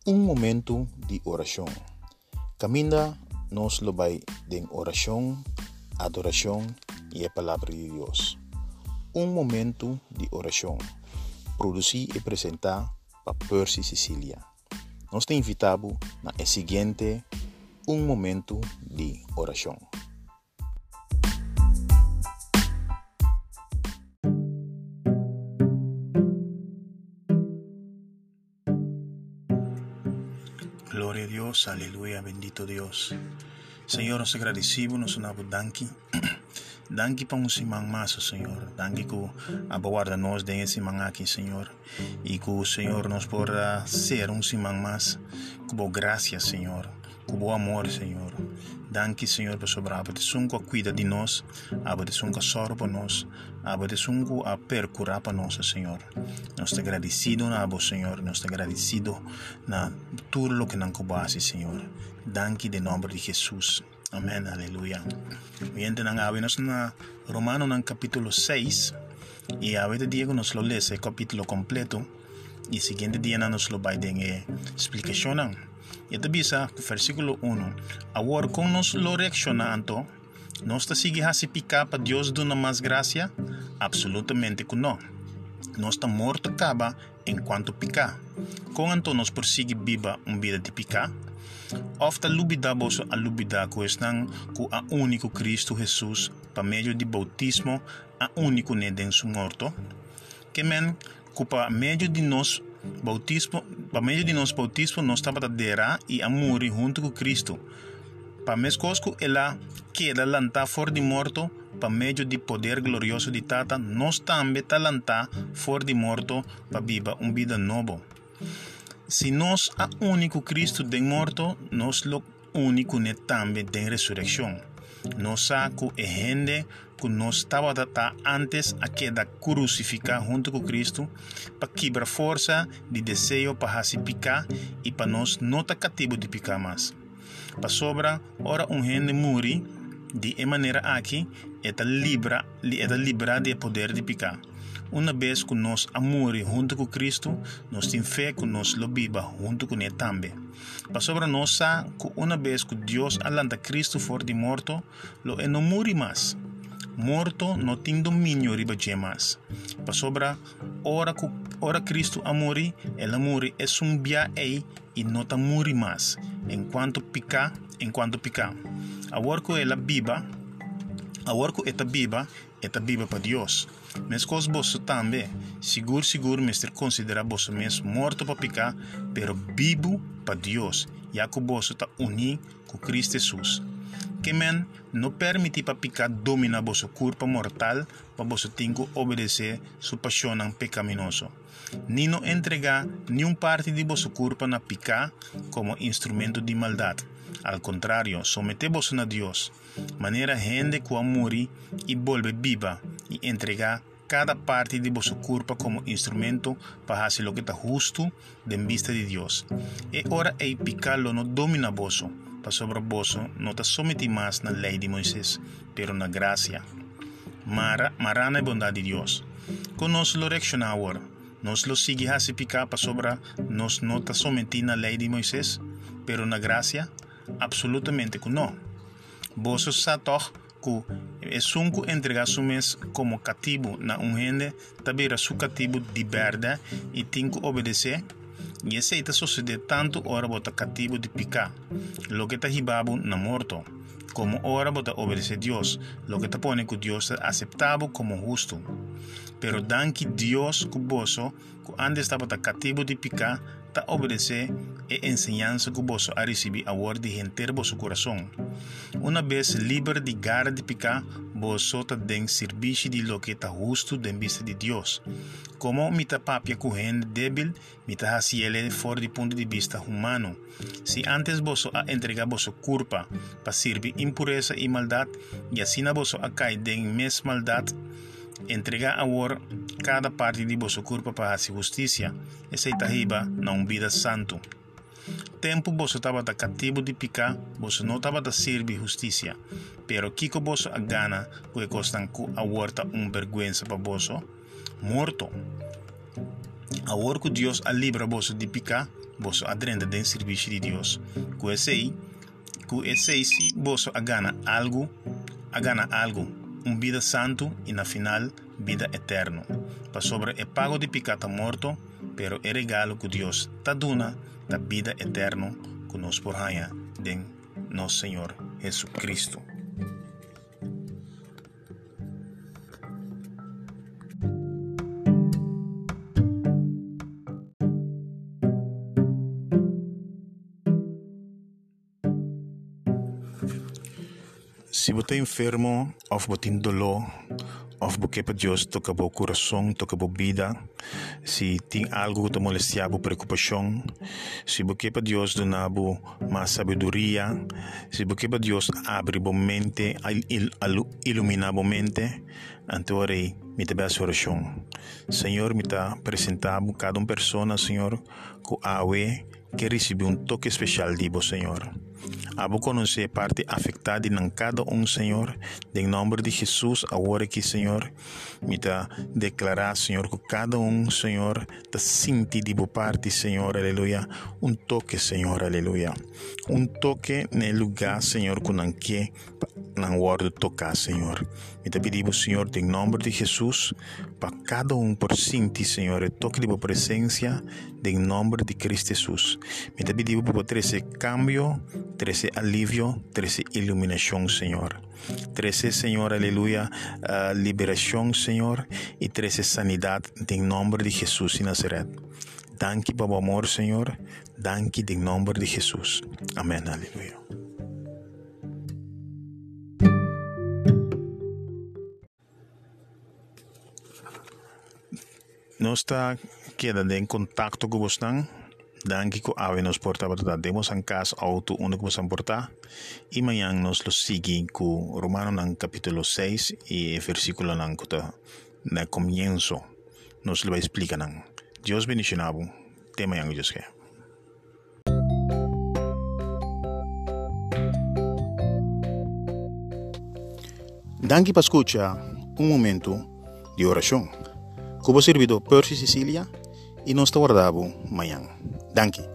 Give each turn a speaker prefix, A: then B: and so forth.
A: Un momento de oración. Caminda nos lo vai de oración, adoración y a palavra de Dios. Un momento de oración. Produzir e apresentar para Percy Sicilia. Nós te invitamos na seguinte Un momento de oración.
B: Gloria a Dios, aleluya, bendito Dios. Señor, nos agradecemos, nos damos danki. Danki para un simán más, Señor. Danki que aguarda-nos de esse simán aqui, Señor. E que o Senhor nos possa ser un simán más. Com graça, Senhor. Com amor, Senhor. Danki, Senhor, por sobre a petição cuida de nós, a petição que sorra para nós, a petição a percurar para nós, Senhor. Nós te agradecido na abo, Senhor. Nós te agradecido na tudo o que não coubesse, Senhor. Danki de nome de Jesus. Amém, aleluia. Oyente, nang awinos na Romano ng capítulo 6 e awete dia que nos lo lê esse capítulo completo e seguinte dia nos lo vai den explicação nang. Ito bisa versículo 1. Agora kung nos lo reaccionando, nos ta sige hasipika pa Dios do na mas gracia? Absolutamente que não. Nos ta morto acaba enquanto pica. Kung anto nos persigue viva vida de pica, ofta lubida boso a lubida questão ku a único Cristo Jesus pa meio de bautismo a único neden su morto. Que men ku pa meio de nos bautismo, pa meio de nos bautismo nos tabatadera e a muri junto com Cristo. Pa mescosco ela queda lanta for de morto, pa meio de poder glorioso de Tata, nos tambe talanta for de morto pa viva vida novo. Se nós a único Cristo de morto, nós lo único ne tambe de resurrecção. Nós a que é gente que nós estava antes a queda crucificar junto com Cristo para quebrar força de desejo para se picar e para nós não estar cativo de picar mais. Para sobra, ora gente muri de maneira aqui é livra de poder de picar. Uma vez que nós amores junto com Cristo, nós temos fé que nós lo viva junto com Ele também. Para sobre nós, que uma vez que Deus alanta Cristo for de morto, lo não morre mais. Morto não tem domínio riba de mais. Para sobre ora Cristo amore, ela morre é bia e não ta morre mais. Enquanto pica. Agora que ela viva, eta viva para Deus. Mas cos bosso também, seguro, mestre considera bosso mesmo morto para picar, pero vivo para Deus. Já que bosso está unido com Cristo Jesus. Que men não permite para picar dominar bosso corpo mortal, para bosso tem que obedecer sua paixão pecaminoso. Nem não entregar nenhum parte de bosso corpo na picar como instrumento de maldade. Al contrário, sometemos a Deus, maneira gente que amore e volve viva e entregar cada parte de vosso corpo como instrumento para fazer o que está justo de vista de Deus. E ora é picarlo não domina vosso, para sobre vosso não está sometido mais na lei de Moisés, pero na graça. Marana é bondade de Deus. Conosco lo reacciona agora. Nos lo sigue a se picar para sobre nos não está sometido na lei de Moisés, pero na graça. Absolutamente que não. Você sabe que é sunco entregar su mês como cativo na gente, também é su cativo de verdade e tem que obedecer. E esse está sucedendo tanto hora bota cativo de picar, lo que está ribabo na morto, como hora bota obedecer Deus, lo que está pone que Deus está aceitável como justo. Pero danke Deus que você, que antes estava cativo de picar, ta obedecer e enseñanza que vos a recibir agora de gente vosso coração. Uma vez livre de gara de picar, vos sota den serviço de lo que está justo de vista de Deus. Como mita papia com gente débil, mita haciele fora de ponto de vista humano. Se antes vos a entregar vosso culpa para servir impureza e maldade, e assim vos a cair den mes maldade, entregar agora cada parte de vosso corpo para a justiça, essa está riba na vida santo. Tempo você estava cativo de picar, você não estava a servir justiça, pero kiko você a gana que costan agora vergonha para você, morto. Agora que Deus a livra você de picar, boso adrenda den serviço de Deus. Com esse aí, se boso agana algo, vida santo e na final vida eterno. Para sobre é pago de pecado morto, pero é regalo que Deus ta duna da vida eterno que nos por haya de nosso Senhor Jesus Cristo. Se você é enfermo, ou você tem dolor, ou você para Deus toca o coração, toca a vida, se tem algo que te molesta, preocupação, se você para Deus dona mais sabedoria, se você para Deus abre a mente, ilumina a mente, então me te bem oração. Senhor, me está apresentando cada pessoa, Senhor, que recebe toque especial de você, Senhor. Abo conhecer parte afetada em cada Senhor, em nome de Jesus, agora que, Senhor, me está declarar, Senhor, que cada Senhor, te sente de boa parte, Senhor, aleluia, toque, Senhor, aleluia, toque no lugar, Senhor, que não quer, não guarda tocar, Senhor. Me te pedimos, Senhor, em nome de Jesus, para cada por sentir, Senhor, toque de boa presença, em nome de Cristo Jesus. Me te pedimos para trazer cambio, trazer alívio, trazer iluminação, Senhor. Trazer, Senhor, aleluia, liberação, Senhor, e trazer sanidade, em nome de Jesus de Nazaret. Danke para o amor, Senhor. Danke em nome de Jesus. Amém, aleluia. Nós está quedando em contato com vocês. Danke que nos porta para demos en casa auto onde que vamos portar. E amanhã nos lo sigue com Romano en capítulo 6 e versículo na comienzo. Nos lo va a explicar. Dios bendicionado. Te amanhã, Dios que.
A: Danke por escuchar momento de oração. Como servido Percy Cecilia e nos está guardado amanhã. Danke.